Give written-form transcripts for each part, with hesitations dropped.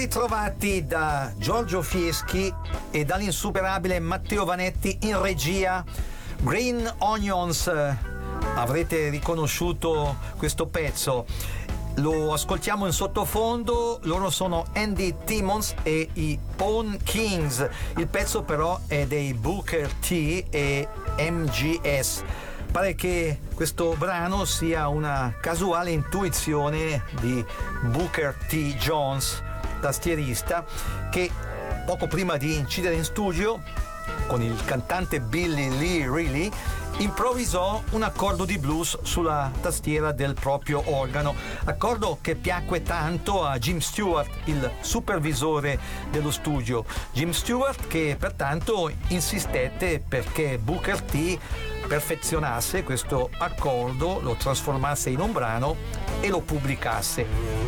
ritrovati da Giorgio Fieschi e dall'insuperabile Matteo Vanetti in regia. Green Onions, avrete riconosciuto questo pezzo, lo ascoltiamo in sottofondo. Loro sono Andy Timmons e i Pawn Kings. Il pezzo però è dei Booker T e MGS. Pare che questo brano sia una casuale intuizione di Booker T. Jones, tastierista, che poco prima di incidere in studio con il cantante Billy Lee Riley improvvisò un accordo di blues sulla tastiera del proprio organo, accordo che piacque tanto a Jim Stewart, il supervisore dello studio. Jim Stewart che pertanto insistette perché Booker T perfezionasse questo accordo, lo trasformasse in un brano e lo pubblicasse.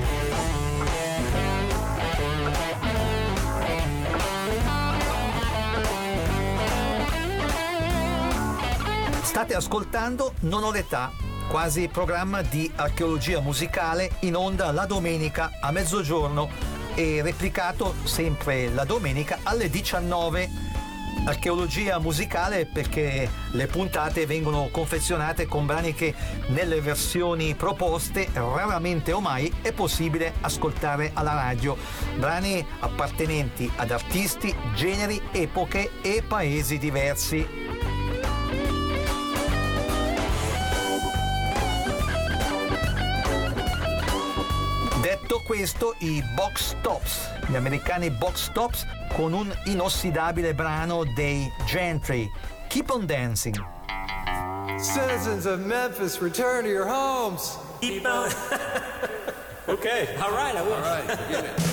State ascoltando Non ho l'età, quasi programma di archeologia musicale in onda la domenica a mezzogiorno e replicato sempre la domenica alle 19. Archeologia musicale perché le puntate vengono confezionate con brani che nelle versioni proposte raramente o mai è possibile ascoltare alla radio, brani appartenenti ad artisti, generi, epoche e paesi diversi. Detto questo, i Box Tops, gli americani Box Tops, con un inossidabile brano dei Gentry, Keep on Dancing. Citizens of Memphis, return to your homes. Keep on. Okay. All right, I will. All right, forget it.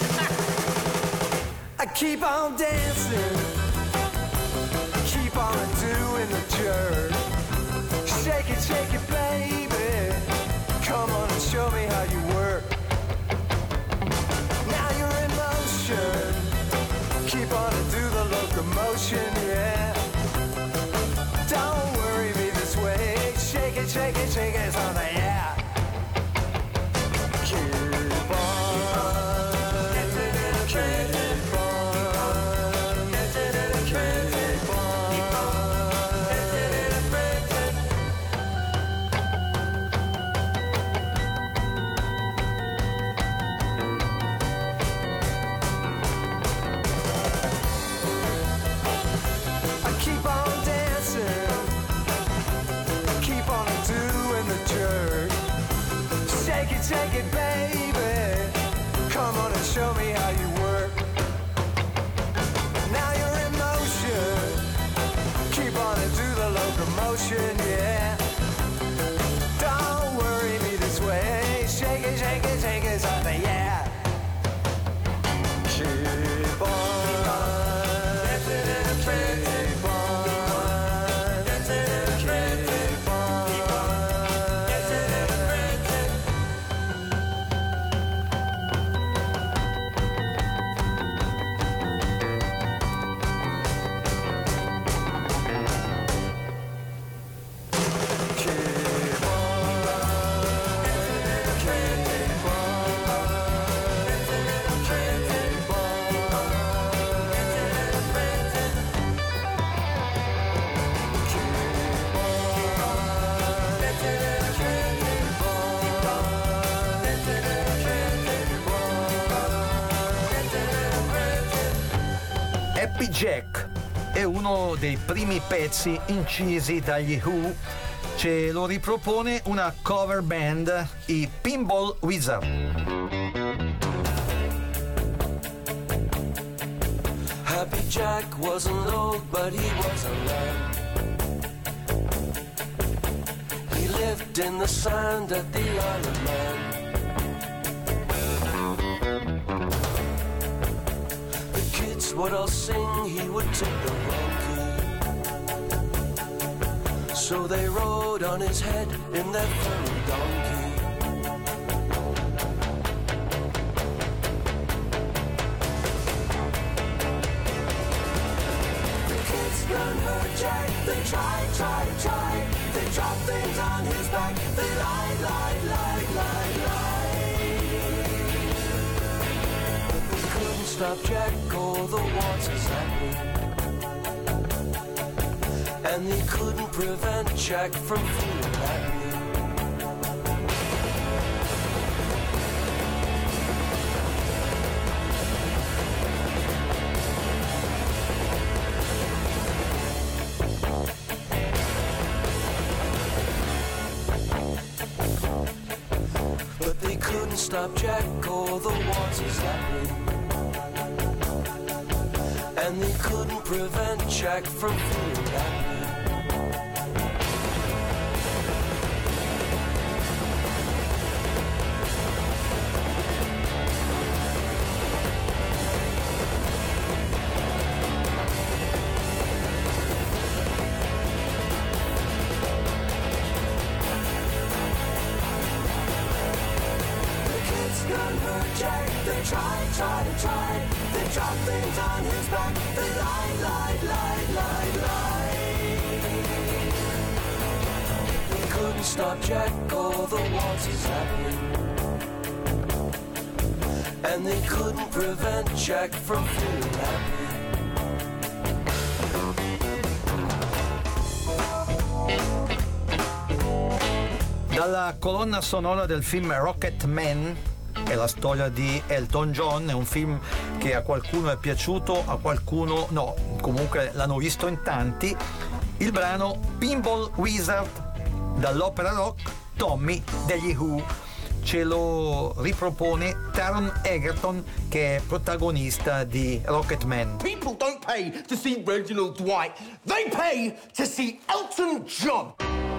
I keep on dancing, keep on doing the jerk. Shake it, baby. Come on and show me how you work. Now you're in motion, keep on and do the locomotion, yeah. Don't worry me this way, shake it, it's on the yeah. Keep on, keep on, keep on. Shake it, baby. Come on and show me how you work. Now you're in motion. Keep on and do the locomotion, yeah. Don't worry me this way. Shake it, something, yeah. Keep on. Happy Jack è uno dei primi pezzi incisi dagli Who, ce lo ripropone una cover band, i Pinball Wizard. Happy Jack wasn't old, but he was a man. He lived in the sand at the Isle of Man. Would all sing, he would take the wrong key. So they rode on his head in their funny donkey. The kids run her Jack, they try. They drop things on his back, they lie. But they couldn't stop Jack or the waltzes happening, and they couldn't prevent Jack from feeling happy. But they couldn't stop Jack or the waltzes happening, and they couldn't prevent Jack from feeling happy. Stop Jack or the waltzes happening, and they couldn't prevent Jack from feeling happy. Dalla colonna sonora del film Rocket Man, è la storia di Elton John, è un film che a qualcuno è piaciuto, a qualcuno no, comunque l'hanno visto in tanti. Il brano Pinball Wizard dall'opera rock Tommy degli Who, ce lo ripropone Taron Egerton, che è protagonista di Rocket Man. People don't pay to see Reginald Dwight, they pay to see Elton John.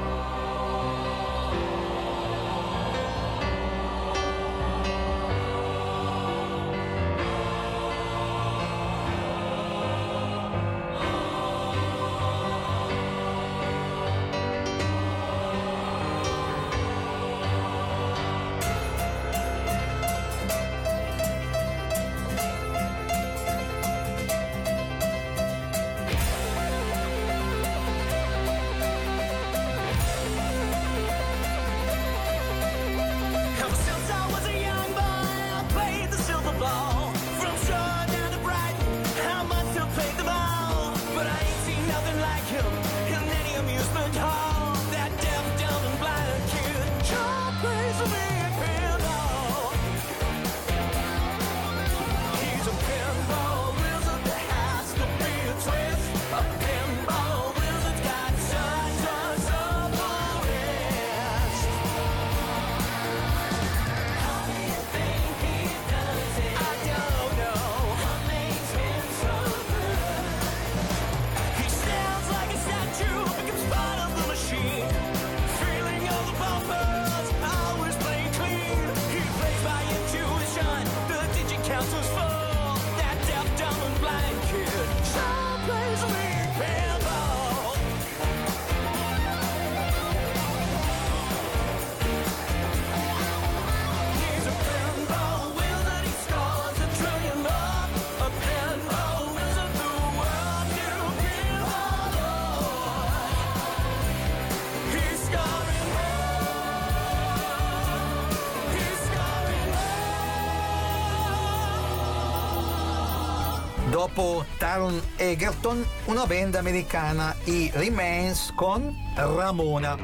Dopo Taron Egerton, una band americana, i Remains con Ramona.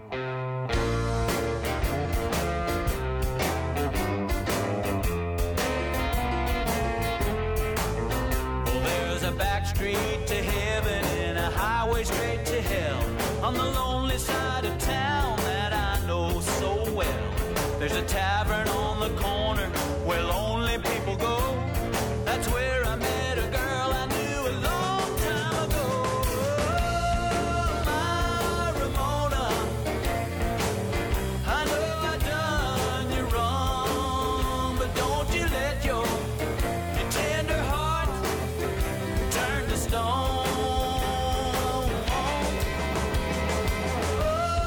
Street to heaven and a highway straight to hell on the lonely side of town that I know so well. There's a tavern on the corner where lonely people go. That's where I met a girl I knew a long time ago. Oh, my Ramona, I know I done you wrong, but don't you let your tender heart turn to stone. Oh,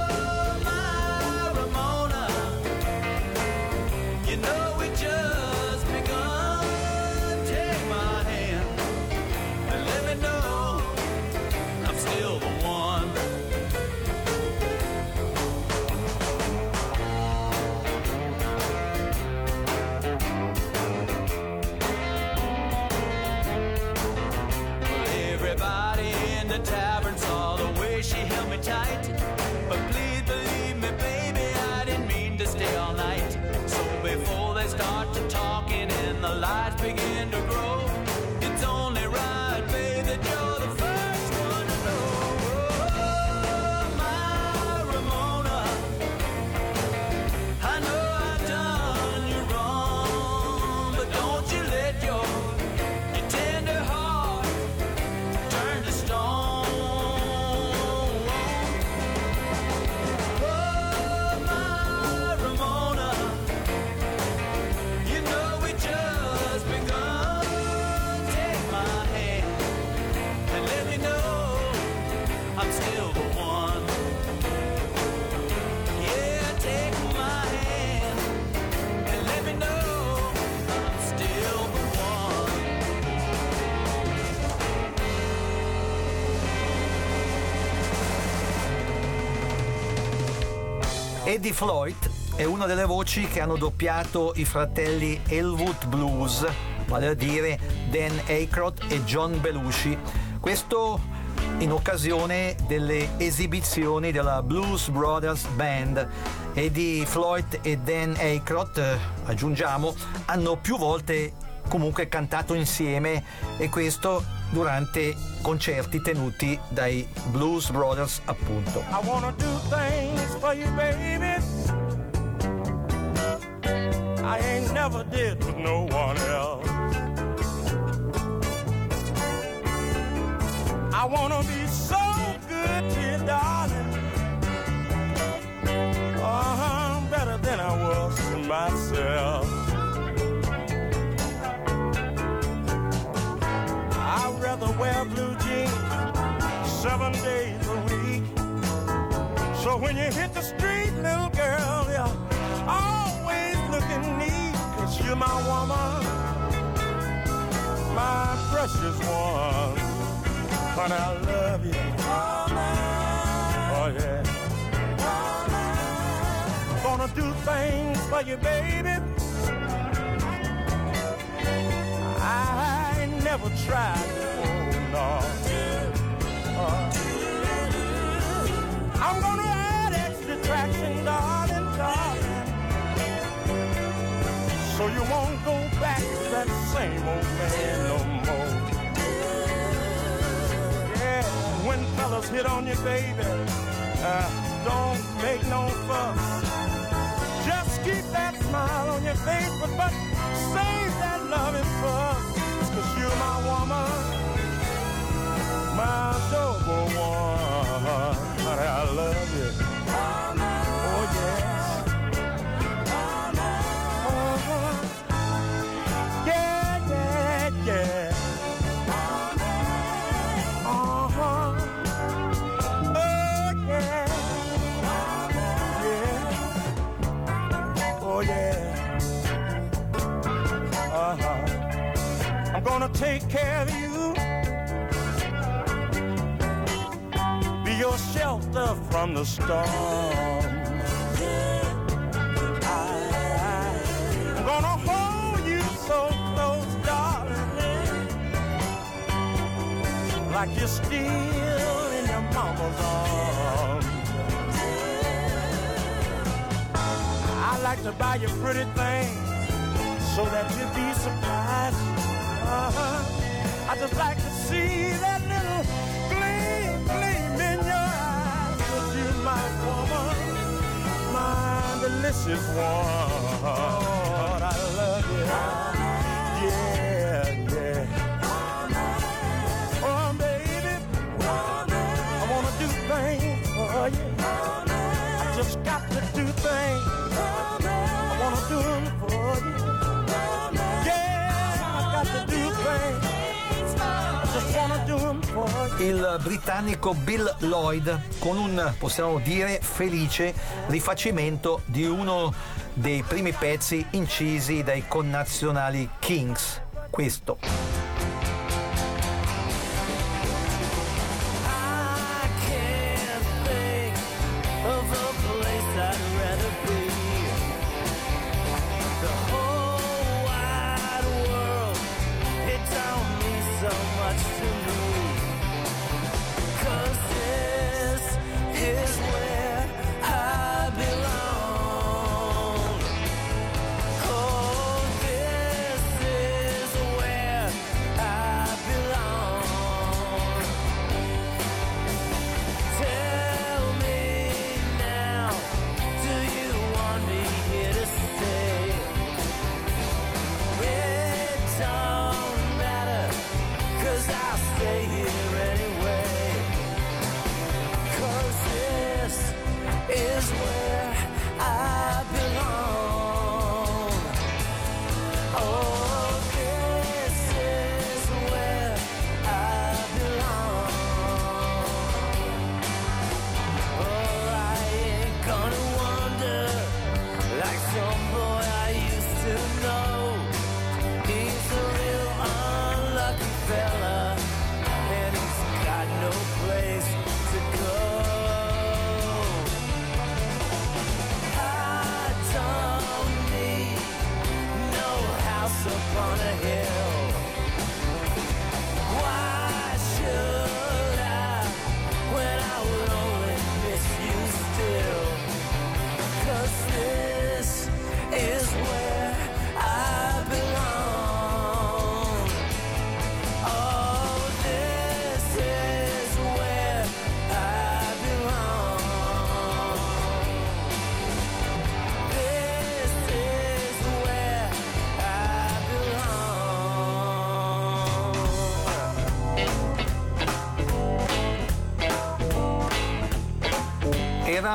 Eddie Floyd è una delle voci che hanno doppiato i fratelli Elwood Blues, vale a dire Dan Aykroyd e John Belushi. Questo in occasione delle esibizioni della Blues Brothers Band. Eddie Floyd e Dan Aykroyd, aggiungiamo, hanno più volte comunque cantato insieme, e questo durante concerti tenuti dai Blues Brothers, appunto. I wanna do things for you, baby. I ain't never did with no one else. I wanna be so good to you, darling. Better than I was to myself. I'd rather wear blue jeans 7 days a week. So when you hit the street, little girl, you're always looking neat. 'Cause you're my woman, my precious one. Honey, I love you. Oh, yeah. Gonna do things for you, baby. I never tried before, no. I'm gonna add extra traction, darling, darling, so you won't go back to that same old man no more. Yeah, when fellas hit on you, baby, don't make no fuss. Just keep that smile on your face, but save that loving fuss. 'Cause you're my woman, my double one. Honey, I love you. Oh, yes. Yeah, yeah, yeah. Oh, yeah. Oh, yeah. I'm gonna take care of you, be your shelter from the storm. I'm gonna hold you so close, darling, like you're still in your mama's arms. I like to buy you pretty things so that you'd be surprised. I just like to see that little gleam in your eyes. 'Cause you're my woman, my delicious one. Oh, I love you. Yeah, yeah. Oh, baby, I wanna do things for you. I just got to do things. I wanna do them for you. Il britannico Bill Lloyd con un, possiamo dire, felice rifacimento di uno dei primi pezzi incisi dai connazionali Kings, questo.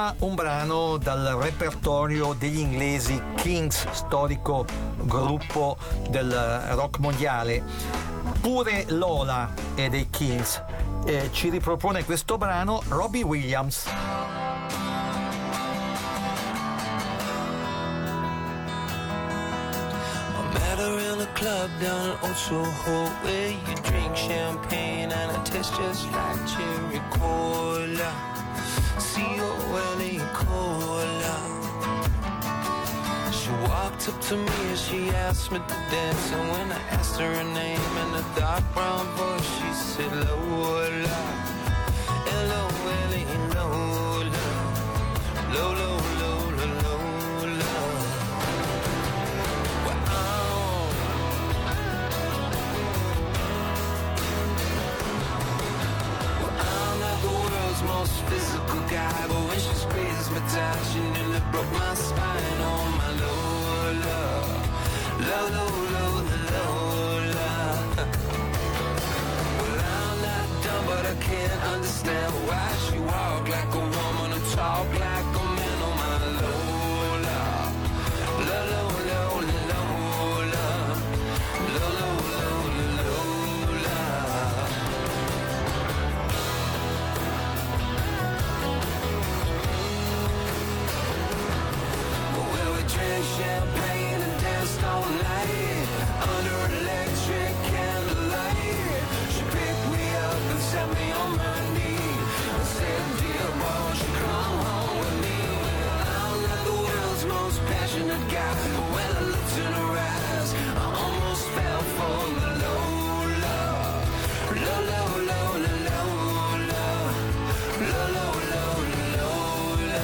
ora un brano dal repertorio degli inglesi Kings, storico gruppo del rock mondiale. Pure Lola e dei Kings ci ripropone questo brano Robbie Williams. Club down in Old Soho where you drink champagne and it tastes just like cherry cola, C-O-L-A cola. She walked up to me and she asked me to dance, and when I asked her her name in a dark brown voice, she said Lola, L-O-L-A, Lola, Lola, Lola, Lola. Most physical guy, but when she squeezed me tight, she nearly broke my spine. Oh my Lola, Lola, Lola, Lola. Well, I'm not dumb, but I can't understand why she walk like a woman and talk like a man. Oh my Lola, Lola, Lola, Lola, Lola, Lola, Lola. Drank champagne and danced all night under an electric candlelight. She picked me up and set me on my knee and said, dear boy, won't you come home with me? Well, I'm not the world's most passionate guy, but when I looked in her eyes, I almost fell for the Lola, Lola, Lola, Lola, Lola, Lola, Lola.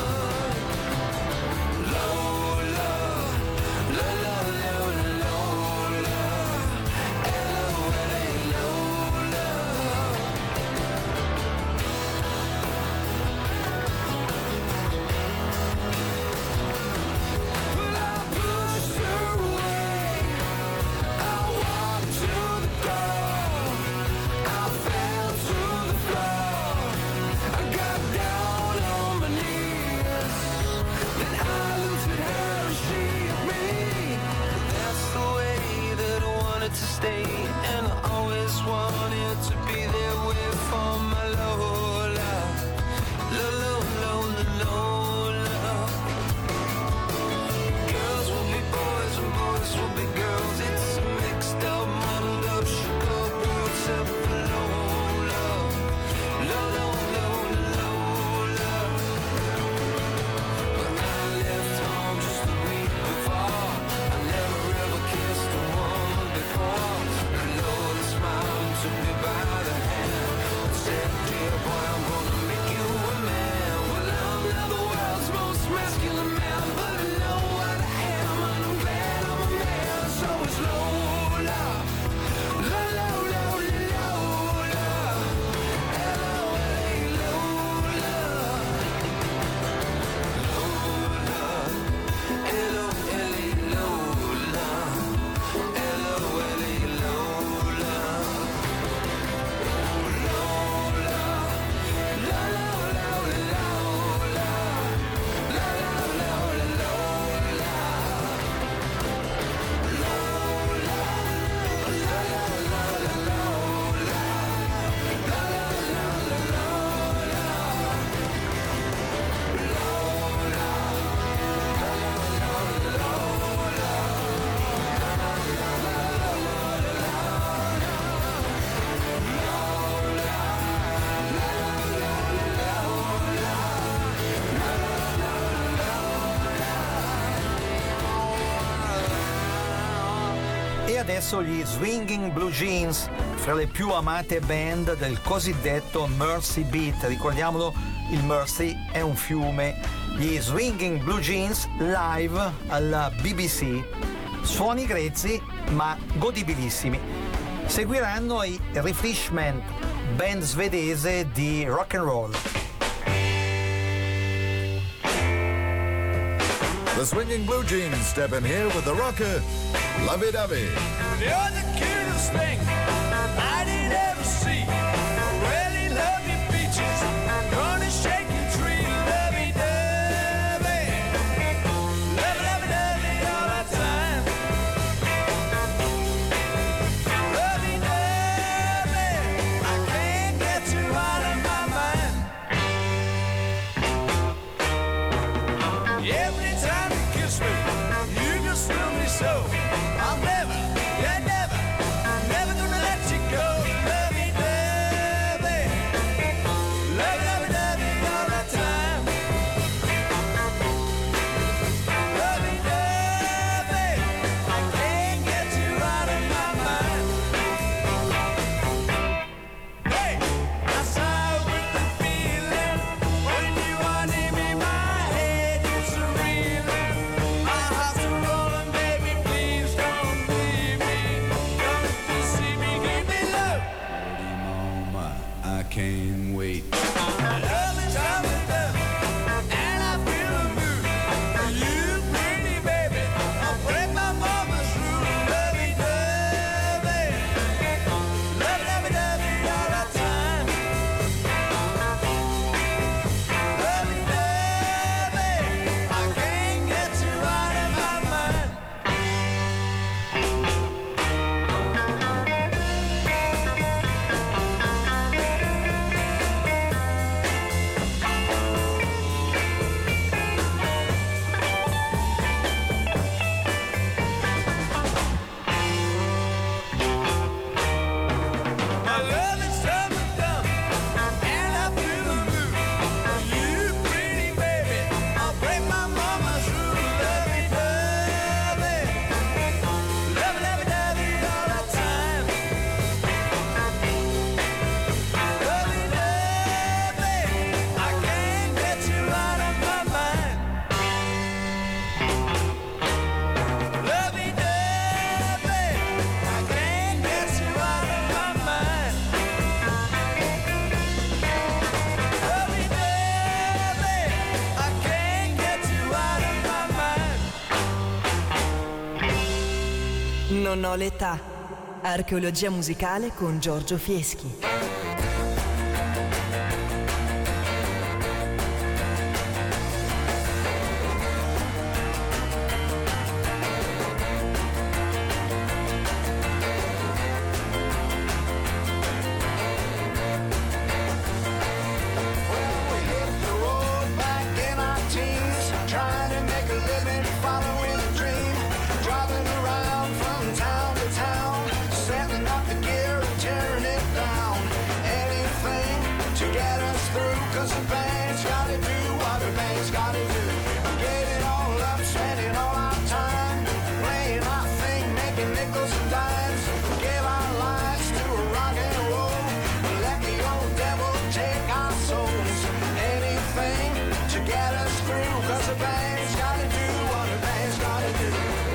To stay, and I always wanted to be there with for my Lola, Lola, Lola, Lola. Girls will be boys and boys will be girls. It's a mixed up, muddled up sugar bowl except for Lola, Lola, Lola, Lola. When I left home just a week before, I never ever kissed a woman before. Lola smiled and took me by the hand and said, dear boy, I'm gonna make you a man. Well, I'm not the world's most masculine man, but I know what I am, and I'm glad I'm a man. So it's Lola, Lola, Lola, Lola, L-O-L-A, Lola, Lola, L-O-L-A, Lola, L-O-L-A, Lola, E adesso gli Swinging Blue Jeans, fra le più amate band del cosiddetto Mersey Beat. Ricordiamolo, il Mersey è un fiume. Gli Swinging Blue Jeans live alla BBC. Suoni grezzi ma godibilissimi. Seguiranno i Refreshment, band svedese di rock and roll. The Swinging Blue Jeans step in here with the rocker, Lovey Dovey. You're the cutest thing I did ever see. Really love your beaches, gonna shake your tree, lovey-dovey. Every time you kiss me, you just thrill me so. I'm never, yeah, never, never gonna let you go. Lovey-dovey, lovey-dovey all the time. Lovey-dovey, I can't get you out of my mind. Hey, I sigh with the feeling when you are near me. My head is reeling, my heart's rolling, baby. Please don't leave me. Don't you see me? Give me love. Mama, I can't wait. Love is coming down, and I feel the mood. You pretty baby, I'll break my mama's rule. Lovey-dovey, lovey-dovey all the time. Lovey-dovey, I can't get you out of my mind. My love is coming down, and I feel the mood. You pretty baby, I'll break my mama's rule. Lovey-dovey, lovey-dovey all the time. Lovey-dovey, I can't get you out of my mind. Lovey-dovey, I can't get you out of my mind. Lovey-dovey, I can't get you out of my mind. Non ho l'età. Archeologia musicale con Giorgio Fieschi. We hit the road back in our teens, trying to make a living, following a dream, driving around from town to town, setting up the gear and tearing it down. Anything to get us through, 'cause the band's gotta do what the band's gotta do. Get it all up, spending all our time, playing our thing, making nickels and dimes, give our lives to a rock and roll, let the old devil take our souls. Anything to get us through, 'cause the band's gotta do what the band's gotta do.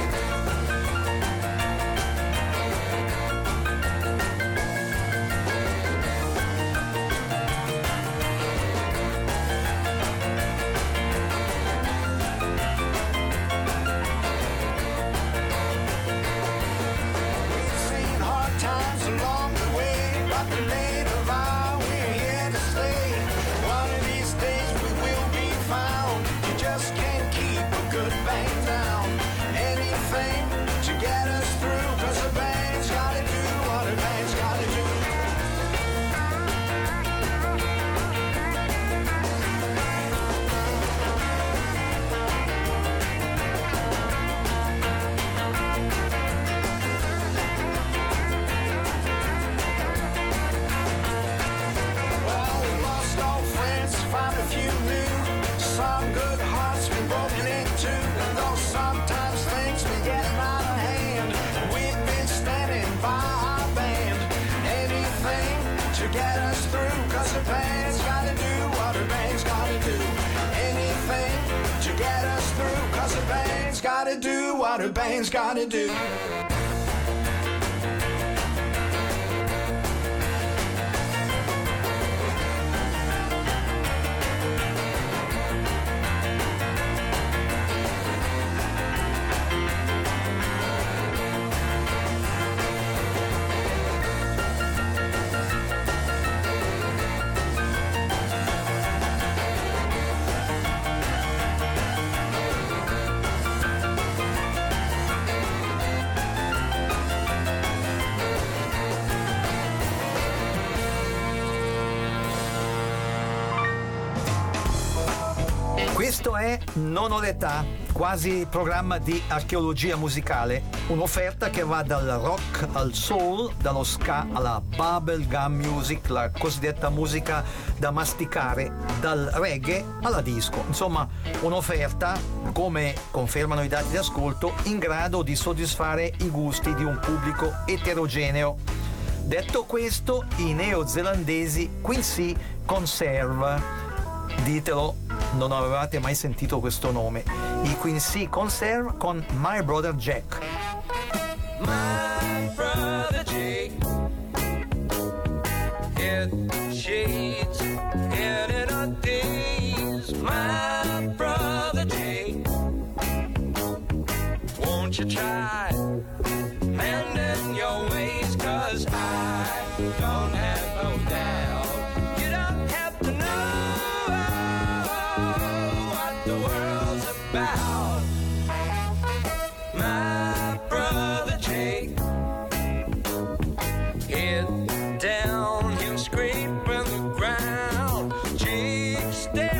We've seen hard times along the way, but we made a vow we're here to stay. One of these days we will be found. You just can't keep a good band down. Anything to get us through, 'cause the band's gotta do what the band's gotta do. Well, we lost all friends, found a few new. Some good hearts been broken into. And though sometimes things been getting out of hand, we've been standing by our band. Anything to get us through, 'cause the band's gotta do what the band's gotta do. Anything to get us through, 'cause the band's gotta do what the band's gotta do. Questo è Non ho l'età, quasi programma di archeologia musicale, un'offerta che va dal rock al soul, dallo ska alla bubblegum music, la cosiddetta musica da masticare, dal reggae alla disco. Insomma, un'offerta, come confermano i dati di ascolto, in grado di soddisfare i gusti di un pubblico eterogeneo. Detto questo, i neozelandesi Quincy Conserve, ditelo, non avevate mai sentito questo nome, i Quincy Conserve con My Brother Jack. My brother Jake, it shades in our days. My brother Jake, won't you try mending your ways? 'Cause I don't have no doubt you don't have to know what the world's about. My brother Jake, head down, him scraping the ground. Jake, stay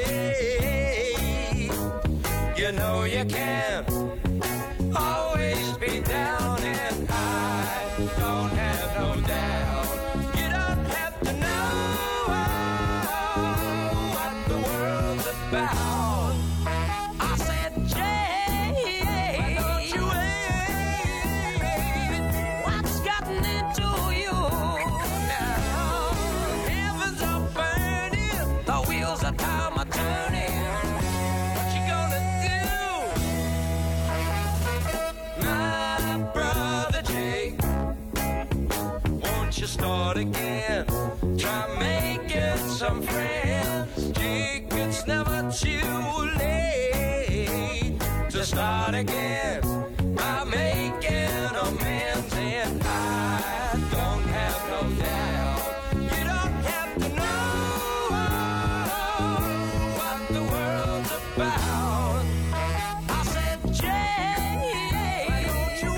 away. You know you can't always be down, and I don't have no doubt you don't have to know what the world's about. I said, Jay, why don't you wait? What's gotten into you now? Heavens are burning, the wheels of time are turning. What you gonna do? My brother Jake, won't you start again? Try making some friends. Jake, it's never too late to start again by making amends. And I don't have no doubt you don't have to know what the world's about. I said, Jay, why don't you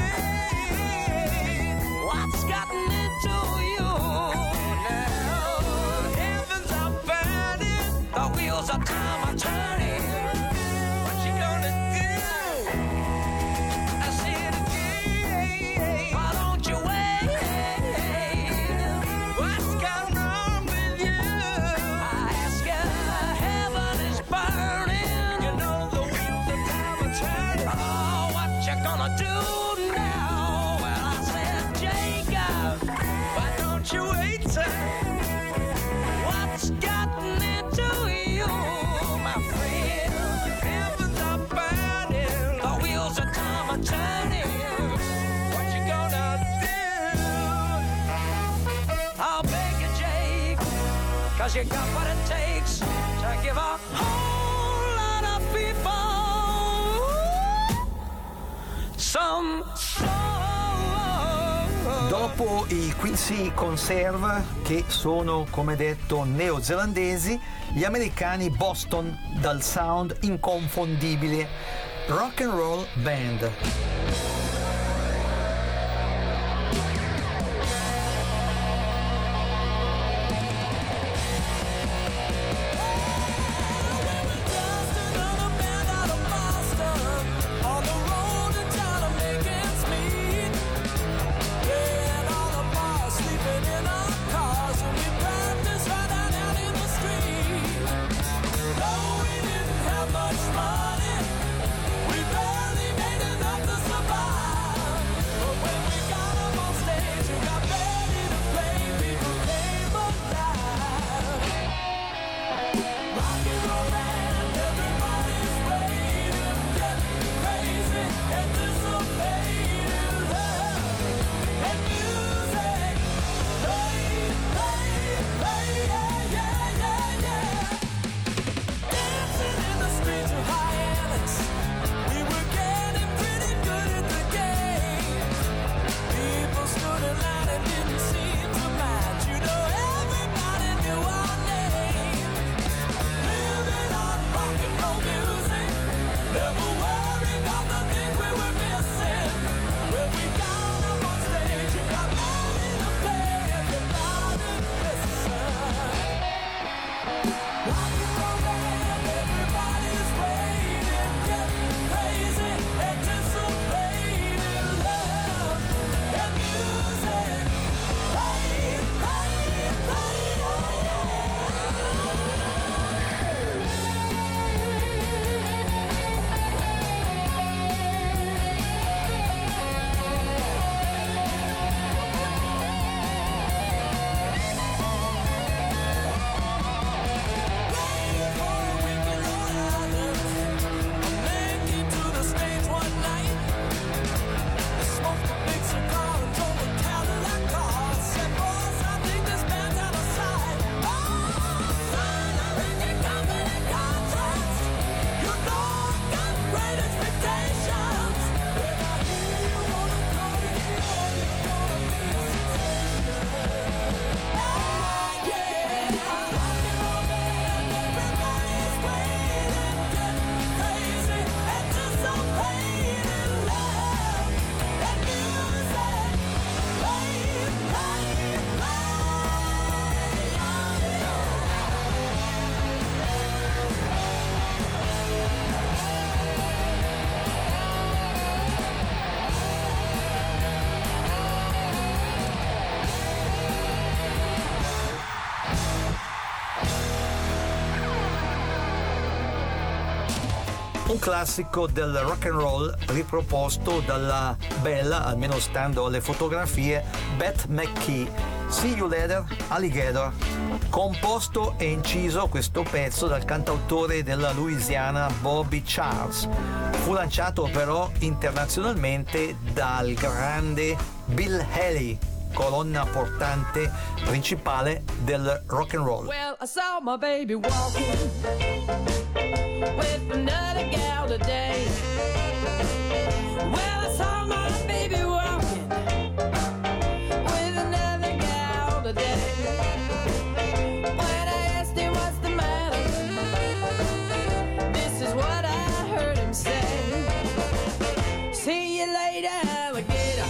wait? What's gotten into you now? Heavens are burning, the wheels of time are turning. What you gonna do? I said again, why don't you wait? What's gone wrong with you? I ask you, heaven is burning. You know the wheels of time are turning. Oh, what you gonna do now? Well, I said, Jacob, why don't you wait, sir? What's gotten into you, my friend? Heavens are burning, the wheels of time are turning. What you gonna do? I'll beg you, Jake, 'cause you got what it takes to give a whole lot of people some soul. Dopo i Quincy Conserve, che sono, come detto, neozelandesi, gli americani Boston, dal sound inconfondibile, Rock and Roll Band. Much money, we barely made enough to survive. un classico del rock and roll riproposto dalla bella, almeno stando alle fotografie, Beth McKee. See You Later, Alligator. Composto e inciso questo pezzo dal cantautore della Louisiana Bobby Charles. Fu lanciato però internazionalmente dal grande Bill Haley, colonna portante principale del rock and roll. Well, I saw my baby walking with another gal today. Well, I saw my baby walking with another gal today. When I asked him what's the matter, this is what I heard him say. See you later, alligator.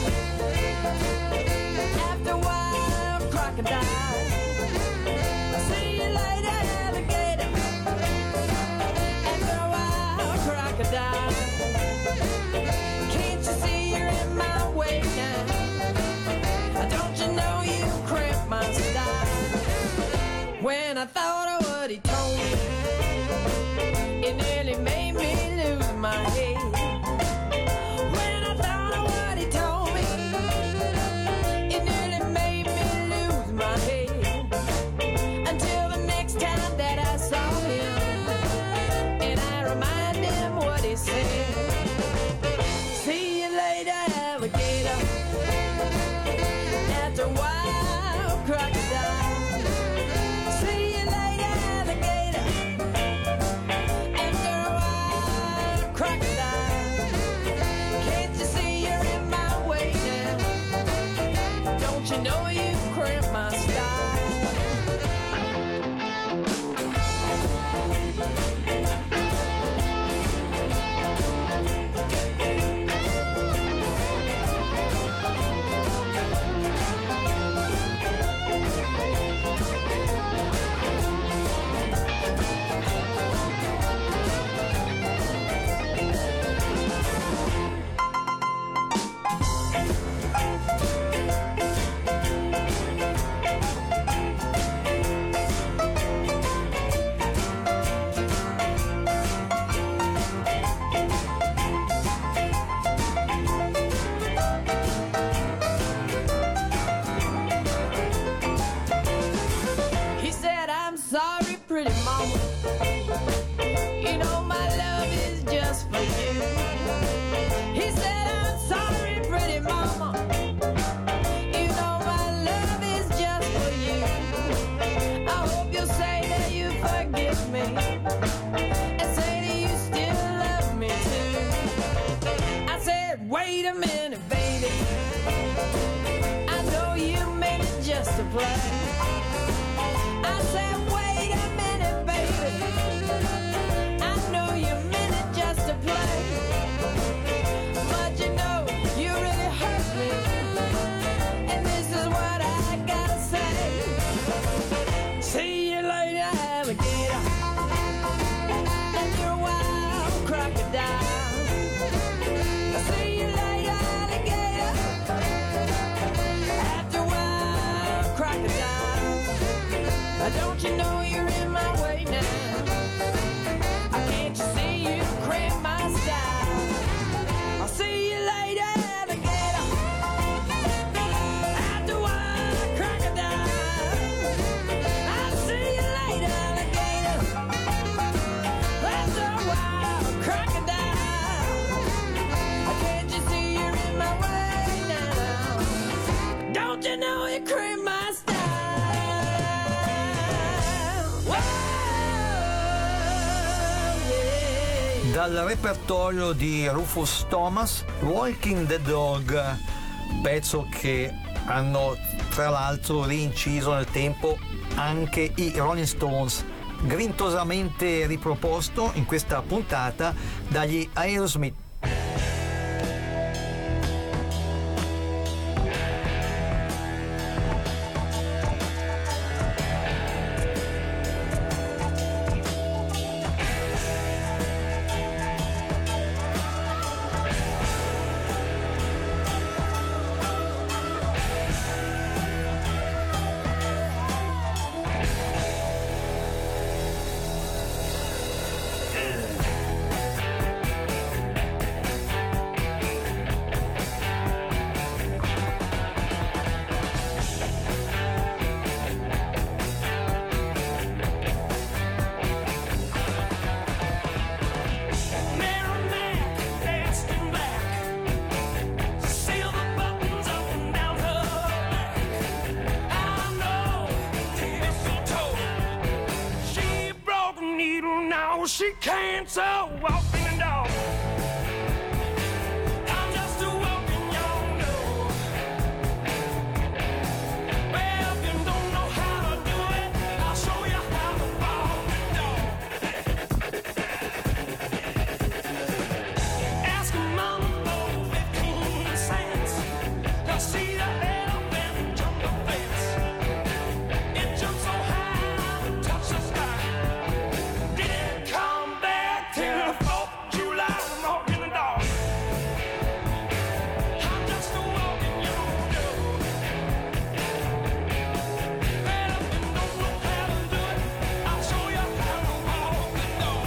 After a while, crocodile. See you later, alligator. After a while, crocodile. Can't you see you're in my way now? Don't you know you cramp my style? When I thought of what he told me, it nearly made me lose my head. When I thought of what he told me, it nearly made me lose my head. Until the next time that I saw him, and I reminded him what he said. See you later, alligator. After a while, crocodile. See you later, alligator. After a while, crocodile. Can't you see you're in my way now? Don't you know you cramp my style? He said, I'm sorry, pretty mama. You know my love is just for you. He said, I'm sorry, pretty mama. You know my love is just for you. I hope you'll say that you forgive me, and say that you still love me too. I said, wait a minute, baby. I know you meant it just to play. I said, wait a minute, baby. I know you meant it just to play. But you know, you really hurt me. And this is what I gotta say. See you later, alligator. After a while, crocodile. See you later, alligator. After a while, crocodile. Don't you know you're in my way now? Can't you see you cramp my style? I'll see you later, alligator. After a while, crocodile. I'll see you later, alligator. After a while, crocodile. Can't you see you're in my way now? Don't you know you cramp my style? Dal repertorio di Rufus Thomas, Walking the Dog, pezzo che hanno tra l'altro rinciso nel tempo anche i Rolling Stones, grintoosamente riproposto in questa puntata dagli Aerosmith. she can't so walking dog. I'm just a walking young dog. Well, if you don't know how to do it, I'll show you how to walk the dog. Ask mama for 15 cents to see the elephant jump the fence. It jumps so high, touch the sky. Didn't come back till the 4th of July. I'm walking the dog. I'm just a walking young dog. Well, if you don't know how to do it, I'll show you how to walk the dog.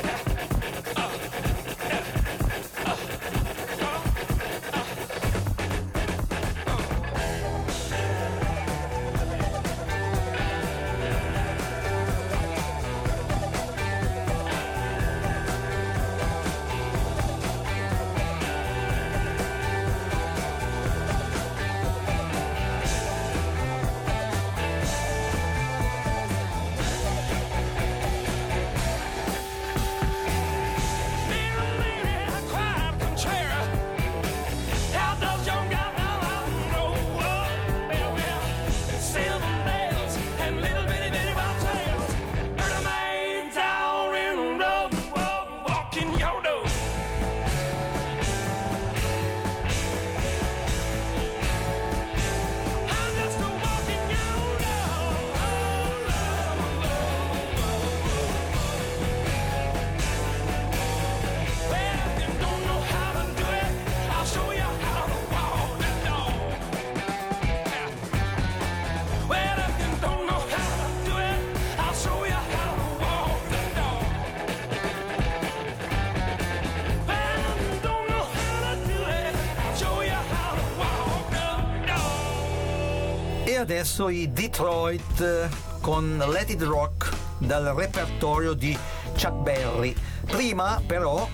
E adesso i Detroit con Let It Rock dal repertorio di Chuck Berry. Prima però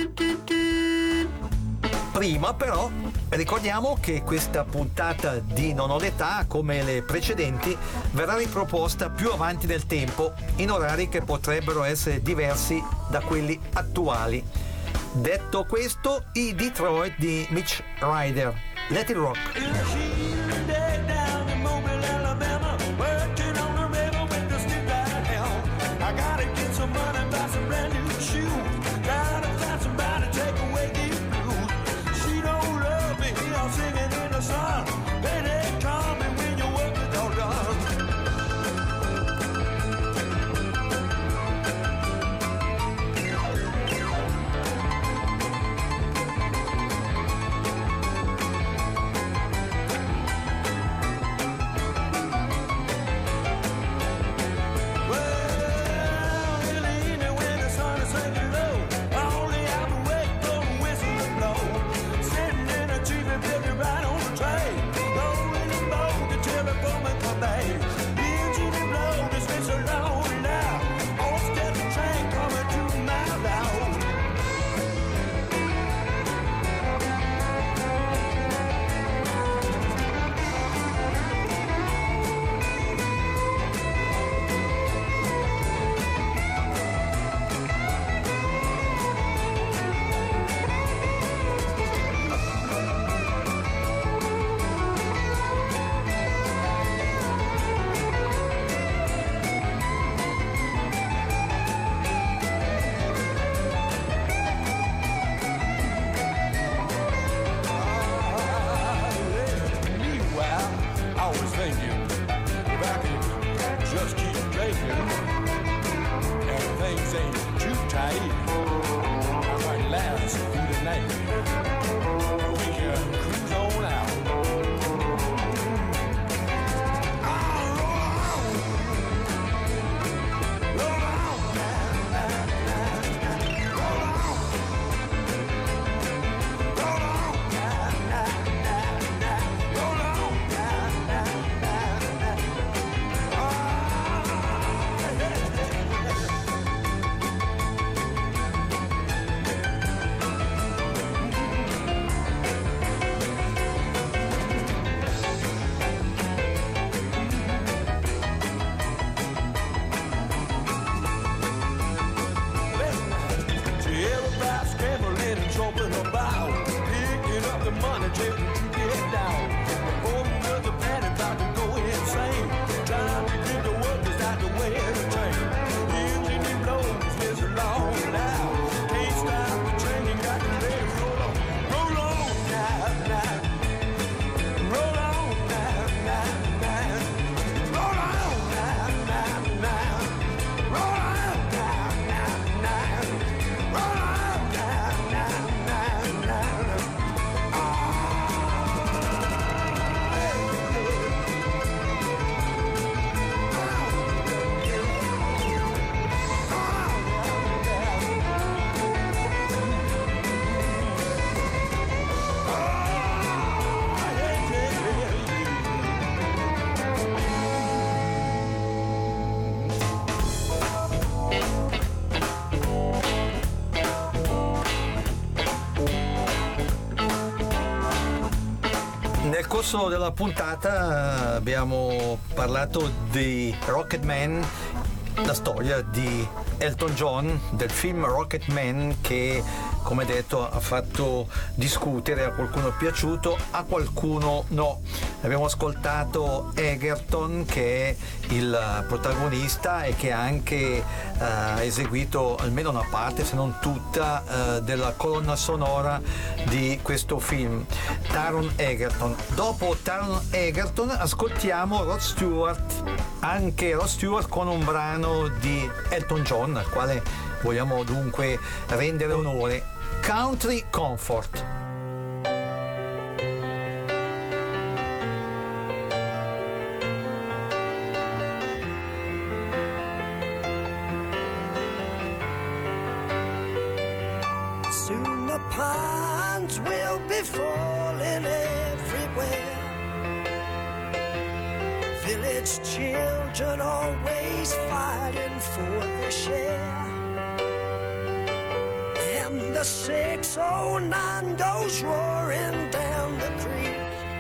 ricordiamo che questa puntata di Non ho l'età, come le precedenti, verrà riproposta più avanti nel tempo in orari che potrebbero essere diversi da quelli attuali. Detto questo, i Detroit di Mitch Ryder. Let It Rock. Thank Nel corso della puntata abbiamo parlato di Rocketman, la storia di Elton John, del film Rocketman, che come detto ha fatto discutere, a qualcuno è piaciuto, a qualcuno no. Abbiamo ascoltato Egerton, che è il protagonista e che ha anche eseguito almeno una parte, se non tutta, della colonna sonora di questo film, Taron Egerton. Dopo Taron Egerton ascoltiamo Rod Stewart, anche Rod Stewart con un brano di Elton John, al quale vogliamo dunque rendere onore, Country Comfort. Soon the pines will be falling everywhere. Village children always fighting for their share. And the 609 goes roaring down the creek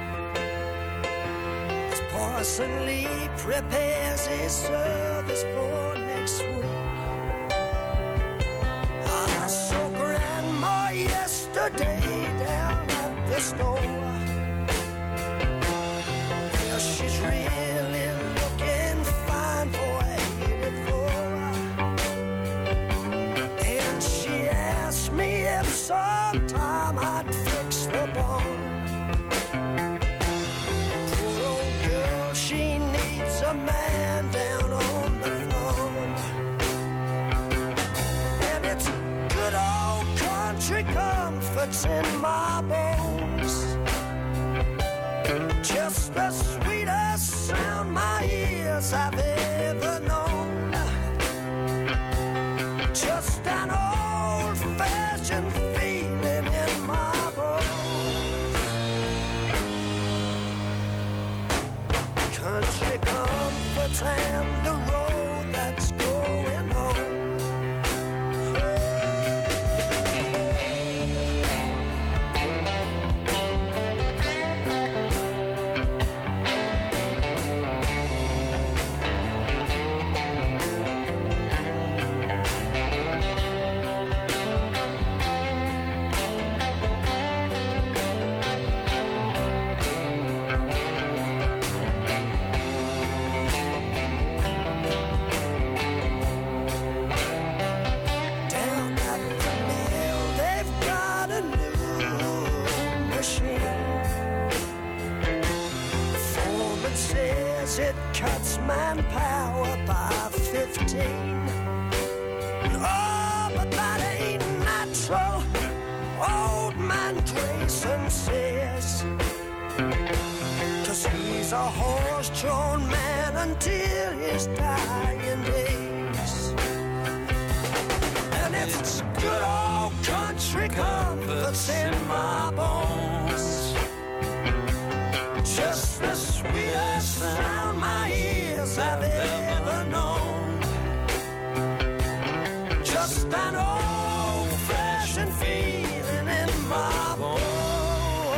as Parson Lee prepares his service for next week. I saw Grandma yesterday down at the store. Well, she's really looking fine for 84. And she asked me if sometime I'd fix the barn. Poor old girl, she needs a man down on the farm. And it's good old country comforts in my bones. Just the sweetest sound my ears have ever known. Just an old-fashioned feeling in my bones. Country comforts and the road that's going home. It cuts manpower by 15. Oh, but that ain't natural, old man Grayson says. 'Cause he's a horse-drawn man until his dying days. And it's good old country comforts in my bones. Just the sweetest sound my ears have ever known. Just an old-fashioned feeling in my bones.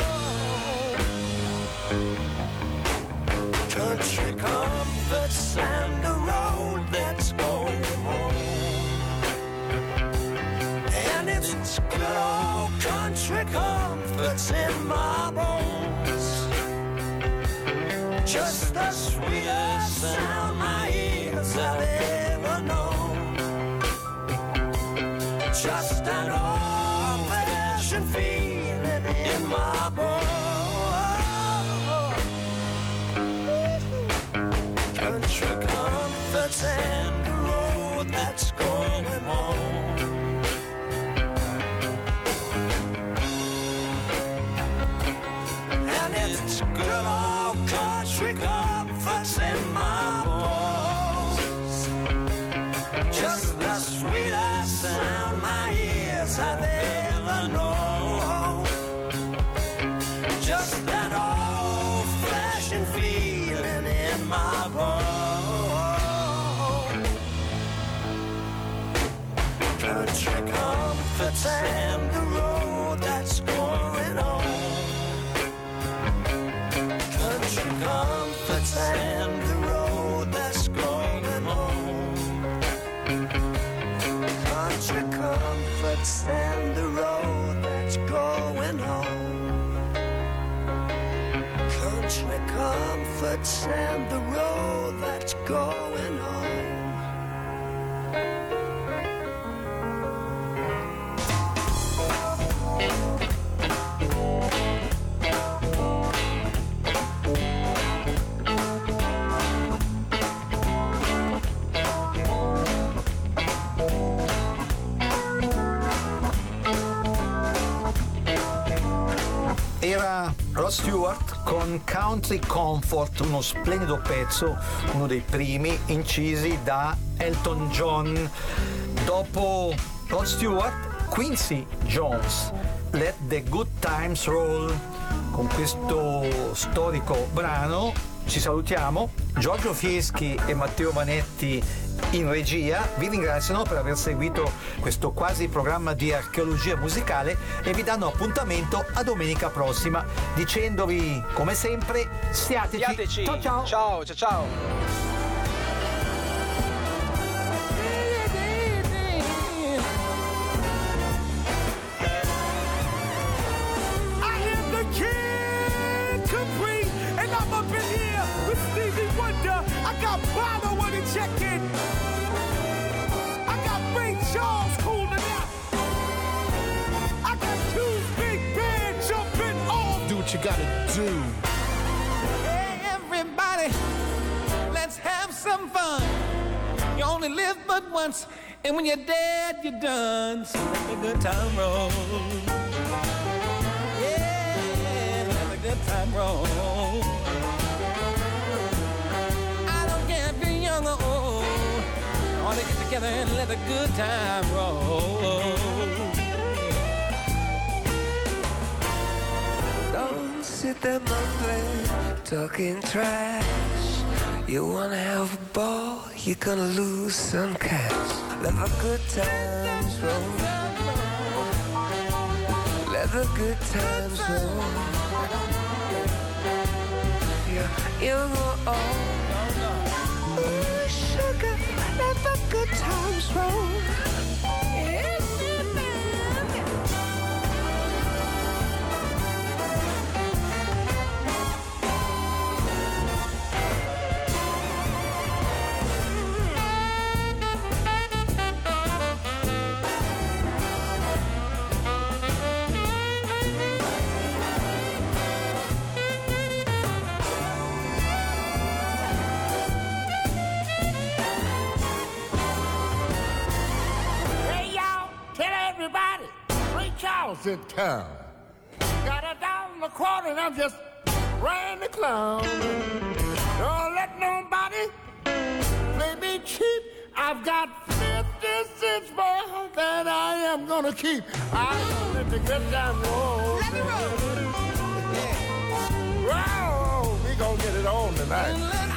Country comforts and the road that's going home. And it's good old country comforts in my bones. Just the sweetest sound my ears have ever known. Just an old-fashioned feeling in my bones. Country comforts and the road that's going home. And it's good old country comforts in my bones. Just the sweetest sound my ears have ever known. Just that old-fashioned feeling in my bones. Country comforts and the road that's going on. and the road that's going home. Country comforts and the road that's going home. Era Rod Stewart con Country Comfort, uno splendido pezzo, uno dei primi incisi da Elton John. Dopo Rod Stewart, Quincy Jones, Let the Good Times Roll. Con questo storico brano ci salutiamo. Giorgio Fieschi e Matteo Vanetti in regia vi ringraziano per aver seguito questo quasi programma di archeologia musicale e vi danno appuntamento a domenica prossima, dicendovi come sempre stiateci. Ciao ciao. Ciao ciao ciao. You gotta do. Hey, everybody, let's have some fun. You only live but once, and when you're dead, you're done. So let the good time roll. Yeah, let the good time roll. I don't care if you're young or old. I want to get together and let the good time roll. Sit there mumbling, talking trash. You wanna have a ball, you're gonna lose some cash. Let the good times roll. Let the good times roll. Yeah, you go on. Ooh, sugar, let the good times roll. In town. Got $1.25 and I'm just ran the clown. Don't let nobody play me cheap. I've got 50 cents more than I am gonna keep. I'm gonna let the good time roll. Let it roll. Yeah. Wow, we gonna get it on tonight.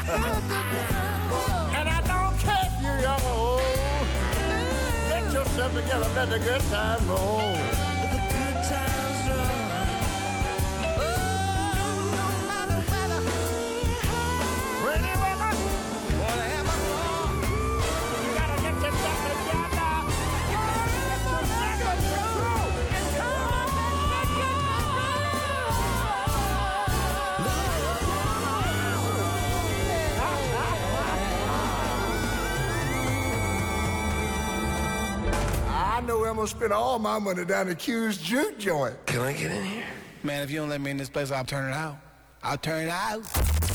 And I don't care if you're young or old. Get yourself together, let the good time roll. I know I'm gonna spend all my money down the Q's juke joint. Can I get in here? Man, if you don't let me in this place, I'll turn it out. I'll turn it out.